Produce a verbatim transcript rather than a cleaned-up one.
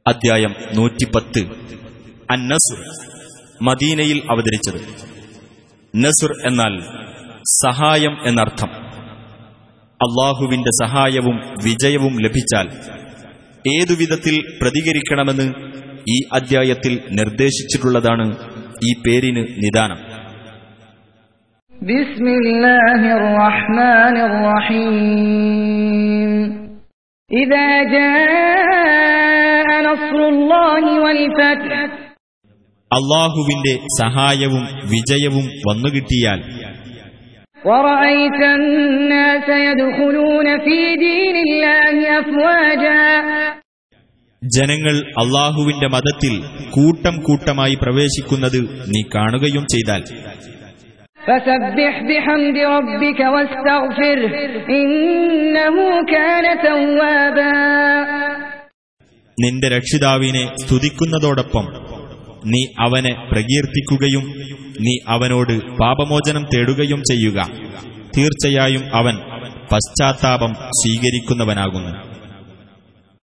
അദ്ധ്യായം നൂറ്റിപ്പത്ത്. അന്നസുർ, മദീനയിൽ അവതരിച്ചത്. നസുർ എന്നാൽ സഹായം എന്നർത്ഥം. അള്ളാഹുവിന്റെ സഹായവും വിജയവും ലഭിച്ചാൽ ഏതുവിധത്തിൽ പ്രതികരിക്കണമെന്ന് ഈ അദ്ധ്യായത്തിൽ നിർദ്ദേശിച്ചിട്ടുള്ളതാണ് ഈ പേരിന് നിദാനം. ബിസ്മില്ലാഹിർ റഹ്മാനിർ റഹീം. ഇദാ ജാഅ നസ്റുല്ലാഹി വൽ ഫത്ഹ്. അല്ലാഹുവിന്റെ സഹായവും വിജയവും വന്നുകിട്ടിയാൽ വറഅയ്ത അന്നാസ യദ്ഖുലൂന ഫീ ദീനില്ലാഹി അഫ്വാജാ. ജനങ്ങൾ അല്ലാഹുവിന്റെ മതത്തിൽ കൂട്ടം കൂട്ടമായി പ്രവേശിക്കുന്നത് നീ കാണുകയും ചെയ്താൽ ഫസബ്ബിഹ് ബിഹംദി റബ്ബിക വസ്തഗ്ഫിർഹ് ഇന്നഹു കാന തവ്വാബാ. നിന്റെ രക്ഷിതാവിനെ സ്തുതിക്കുന്നതോടൊപ്പം നീ അവനെ പ്രകീർത്തിക്കുകയും നീ അവനോട് പാപമോചനം തേടുകയും ചെയ്യുക. തീർച്ചയായും അവൻ പശ്ചാത്താപം സ്വീകരിക്കുന്നവനാകുന്നു.